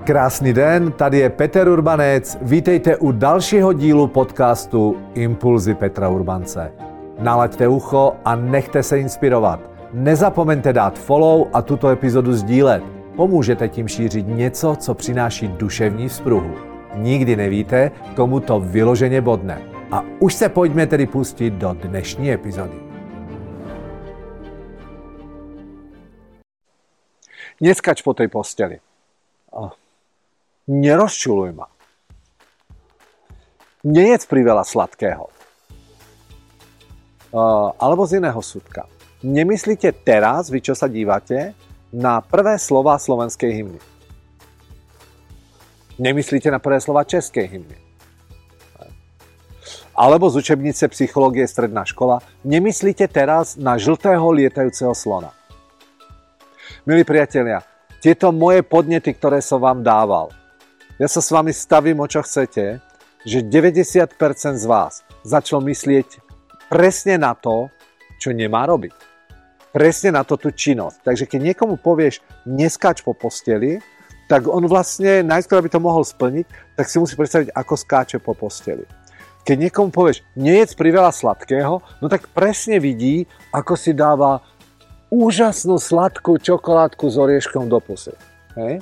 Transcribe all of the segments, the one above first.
Krásný den, tady je Peter Urbanec. Vítejte u dalšího dílu podcastu Impulzy Petra Urbance. Nalaďte ucho a nechte se inspirovat. Nezapomeňte dát follow a tuto epizodu sdílet. Pomůžete tím šířit něco, co přináší duševní vzpruhu. Nikdy nevíte, komu to vyloženě bodne. A už se pojďme tedy pustit do dnešní epizody. Neskač po tej posteli. Nerozčuluj ma. Nejedz priveľa sladkého. Alebo z iného súdka. Nemyslíte teraz, vy čo sa dívate, na prvé slová slovenskej hymny. Nemyslíte na prvé slová českej hymny. Alebo z učebnice psychológie stredná škola. Nemyslíte teraz na žltého lietajúceho slona. Milí priatelia, tieto moje podnety, ktoré som vám dával, ja sa s vami stavím, o čo chcete, že 90% z vás začalo myslieť presne na to, čo nemá robiť. Presne na to tú činnosť. Takže keď niekomu povieš, neskáč po posteli, tak on vlastne, najskôr aby to mohol splniť, tak si musí predstaviť, ako skáče po posteli. Keď niekomu povieš, nejedz priveľa sladkého, no tak presne vidí, ako si dáva úžasnú sladkú čokoládku s orieškom do pusy. Hej?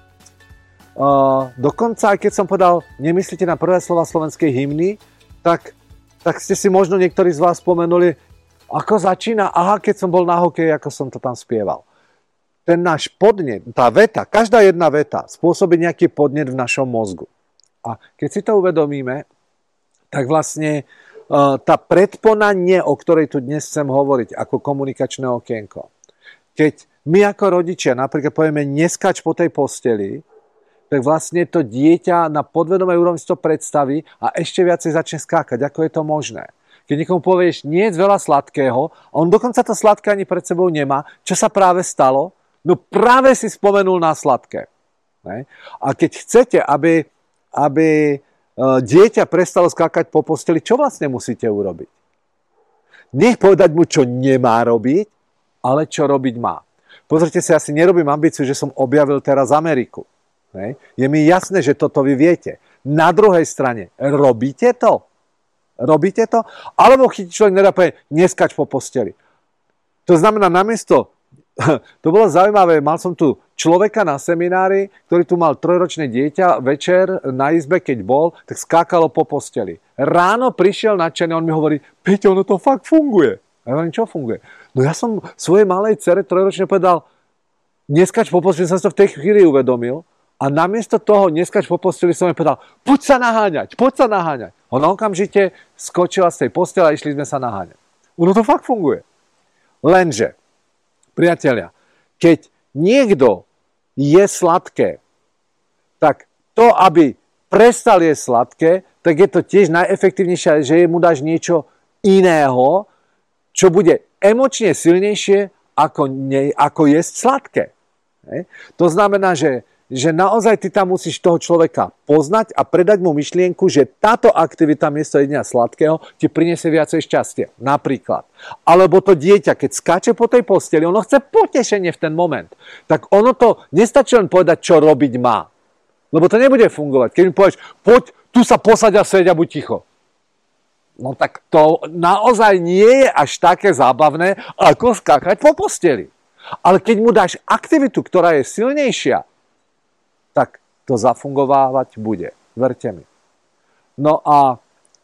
Dokonca, aj keď som povedal, nemyslíte na prvé slova slovenskej hymny, tak ste si možno niektorí z vás spomenuli, ako začína, keď som bol na hokeji, ako som to tam spieval. Ten náš podnet, tá veta, každá jedna veta spôsobí nejaký podnet v našom mozgu. A keď si to uvedomíme, tak vlastne tá predpona nie, o ktorej tu dnes chcem hovoriť, ako komunikačné okienko. Keď my ako rodičia napríklad povieme, neskač po tej posteli, tak vlastne to dieťa na podvedomej úrovni si to predstaví a ešte viacej začne skákať. Ako je to možné? Keď niekomu povieš, nie je veľa sladkého, a on dokonca to sladké ani pred sebou nemá, čo sa práve stalo? No práve si spomenul na sladké. Ne? A keď chcete, aby dieťa prestalo skákať po posteli, čo vlastne musíte urobiť? Nech povedať mu, čo nemá robiť, ale čo robiť má. Pozrite si, ja si nerobím ambíciu, že som objavil teraz Ameriku. Je mi jasné, že toto vy viete. Na druhej strane, robíte to? Robíte to? Alebo chytí človek nedá povedať, neskač po posteli. To znamená, namiesto, to bolo zaujímavé, mal som tu človeka na seminári, ktorý tu mal 3-ročné dieťa, večer na izbe, keď bol, tak skákalo po posteli. Ráno prišiel nadšený, on mi hovorí, Peťo, ono to fakt funguje. A ja hovorím, čo funguje? No ja som svojej malej dcere 3-ročne povedal, neskač po posteli, som si to v tej chvíli uvedomil. A namiesto toho, neskač po posteli, som jej povedal, poď sa naháňať. Ona okamžite skočila z tej postele a išli sme sa naháňať. Ono to fakt funguje. Lenže, priatelia, keď niekto je sladké, tak to, aby prestal jesť sladké, tak je to tiež najefektívnejšie, že mu dáš niečo iného, čo bude emočne silnejšie ako jesť sladké. To znamená, že naozaj ty tam musíš toho človeka poznať a predať mu myšlienku, že táto aktivita miesto jedenia sladkého ti priniesie viacej šťastia. Napríklad. Alebo to dieťa, keď skáče po tej posteli, ono chce potešenie v ten moment. Tak ono to nestačí len povedať, čo robiť má. Lebo to nebude fungovať. Keď mi povieš, poď, tu sa posaď a seď a buď ticho. No tak to naozaj nie je až také zábavné, ako skákať po posteli. Ale keď mu dáš aktivitu, ktorá je silnejšia, tak to zafungovávať bude. Verte mi. No a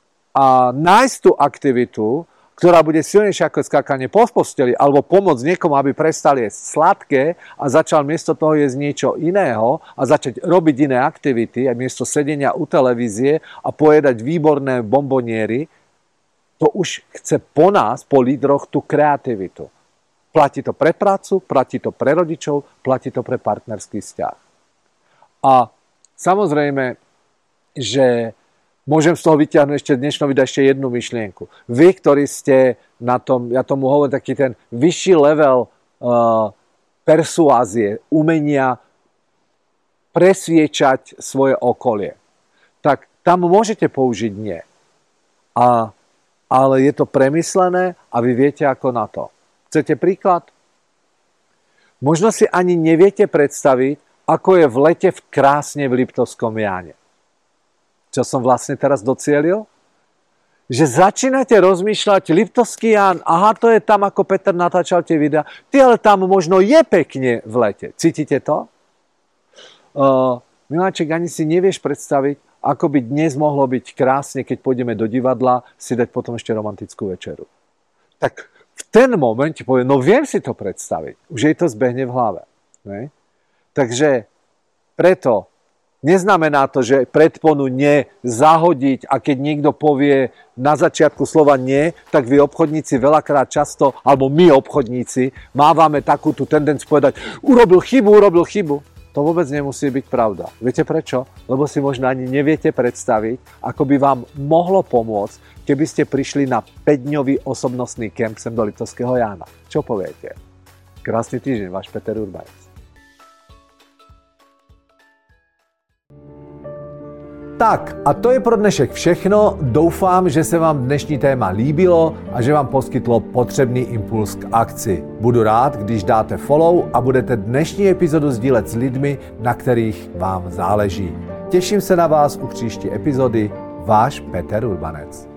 nájsť tú aktivitu, ktorá bude silnejšia ako skákanie po posteli, alebo pomôcť niekomu, aby prestal jesť sladké a začal miesto toho jesť niečo iného a začať robiť iné aktivity, a miesto sedenia u televízie a pojedať výborné bomboniery, to už chce po nás, po lídroch, tú kreativitu. Platí to pre prácu, platí to pre rodičov, platí to pre partnerský vzťah. A samozrejme, že môžem z toho vyťahnuť ešte dnešnou videa ešte jednu myšlienku. Vy, ktorí ste na tom, ja tomu hovorím taký ten vyšší level persuázie, umenia presviečať svoje okolie, tak tam môžete použiť nie. Ale je to premyslené a vy viete ako na to. Chcete príklad? Možno si ani neviete predstaviť, ako je v lete krásne v Liptovskom Jáne. Čo som vlastne teraz docielil? Že začínate rozmýšľať, Liptovský Ján, aha, to je tam, ako Peter natáčal tie videá, ale tam možno je pekne v lete. Cítite to? Miláček, ani si nevieš predstaviť, ako by dnes mohlo byť krásne, keď pôjdeme do divadla, si dať potom ešte romantickú večeru. Tak v ten moment ti poviem, no viem si to predstaviť. Už jej to zbehne v hlave. Ne? Takže preto neznamená to, že predponu nie zahodiť a keď niekto povie na začiatku slova nie, tak vy obchodníci veľakrát často, alebo my obchodníci, mávame takú tú tendenciu povedať urobil chybu. To vôbec nemusí byť pravda. Viete prečo? Lebo si možno ani neviete predstaviť, ako by vám mohlo pomôcť, keby ste prišli na 5-dňový osobnostný kemp sem do Liptovského Jána. Čo poviete? Krásny týždeň, váš Peter Urbanec. Tak a to je pro dnešek všechno. Doufám, že se vám dnešní téma líbilo a že vám poskytlo potřebný impuls k akci. Budu rád, když dáte follow a budete dnešní epizodu sdílet s lidmi, na kterých vám záleží. Těším se na vás u příští epizody. Váš Peter Urbanec.